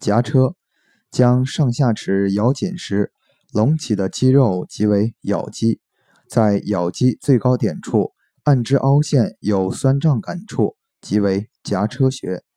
夹车，将上下齿咬紧时，隆起的肌肉即为咬肌，在咬肌最高点处，按之凹陷有酸胀感处，即为夹车穴。